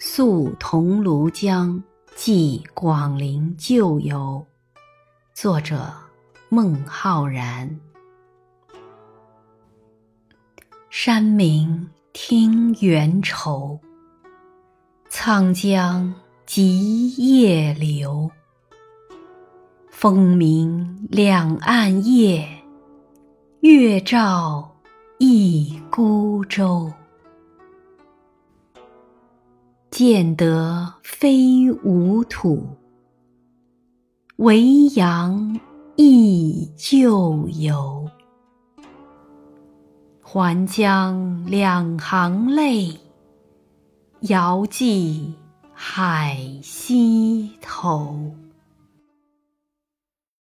宿桐庐江寄广陵旧游，作者孟浩然。山明听猿愁，沧江急夜流。风鸣两岸夜，月照一孤舟。见得非吾土，维扬忆旧游。还将两行泪，遥寄海西头。